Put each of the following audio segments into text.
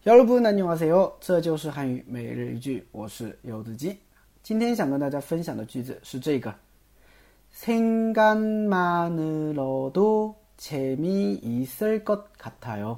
여러분 안녕하세요，这就是汉语每日一句，我是柚子鸡。今天想跟大家分享的句子是这个 생각만으로도 재미있을 것 같아요.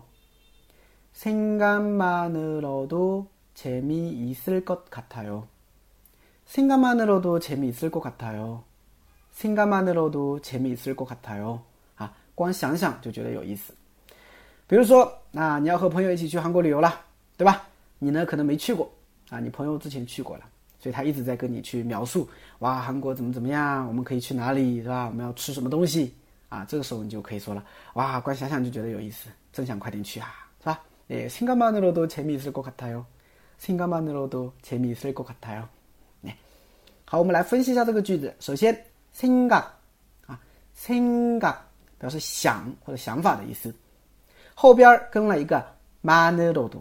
생각만으로도 재미있을 것 같아요. 생각만으로도 재미있을 것 같아요. 생각만으로도 재미있을 것 같아요. 光想想就觉得有意思。比如说你要和朋友一起去韩国旅游了，对吧？你呢可能没去过你朋友之前去过了，所以他一直在跟你去描述，哇，韩国怎么怎么样，我们可以去哪里，是吧？我们要吃什么东西这个时候你就可以说了，哇，光想想就觉得有意思，真想快点去是吧？생각만으로도 재미있을 것 같아요. 생각만으로도 재미있을 것 같아요. 好，我们来分析一下这个句子。首先생각 생각表示想或者想法的意思，后边跟了一个만으로도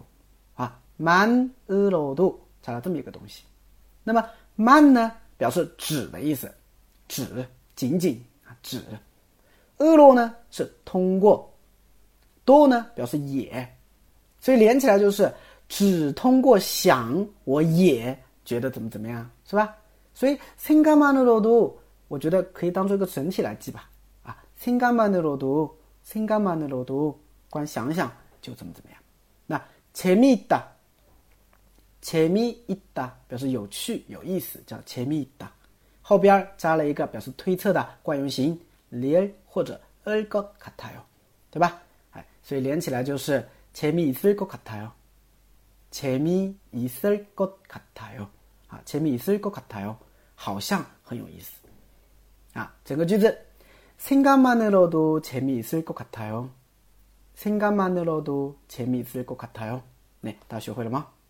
만으로도加了这么一个东西。那么만呢表示只的意思，只仅仅只。으로呢是通过，도呢表示也，所以连起来就是只通过想我也觉得怎么怎么样，是吧？所以생각만으로도我觉得可以当做一个整体来记吧。생각만으로도光想想就怎么怎么样。那재미있다表示有趣有意思，叫재미있다，后边加了一个表示推测的惯用型릴或者을 것 같아요，对吧？所以连起来就是재미있을 것 같아요，재미있을 것 같아요，재미있을 것 같아요，好像很有意思整个句子생각만으로도 재미있을 것 같아요，생각만으로도 재미있을 것 같아요。大家学会了吗？